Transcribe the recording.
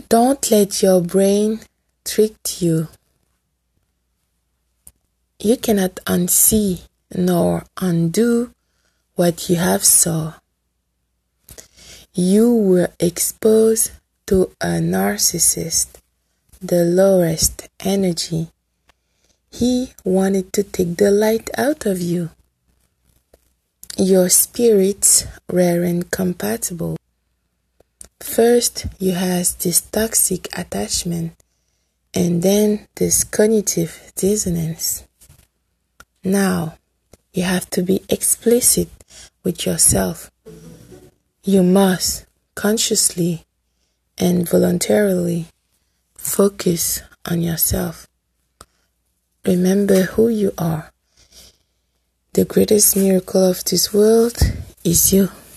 Don't let your brain trick you. You cannot unsee nor undo what you have saw. You were exposed to a narcissist, the lowest energy. He wanted to take the light out of you. Your spirits were incompatible. First, you had this toxic attachment, and then this cognitive dissonance. Now, you have to be explicit with yourself. You must consciously and voluntarily focus on yourself. Remember who you are. The greatest miracle of this world is you.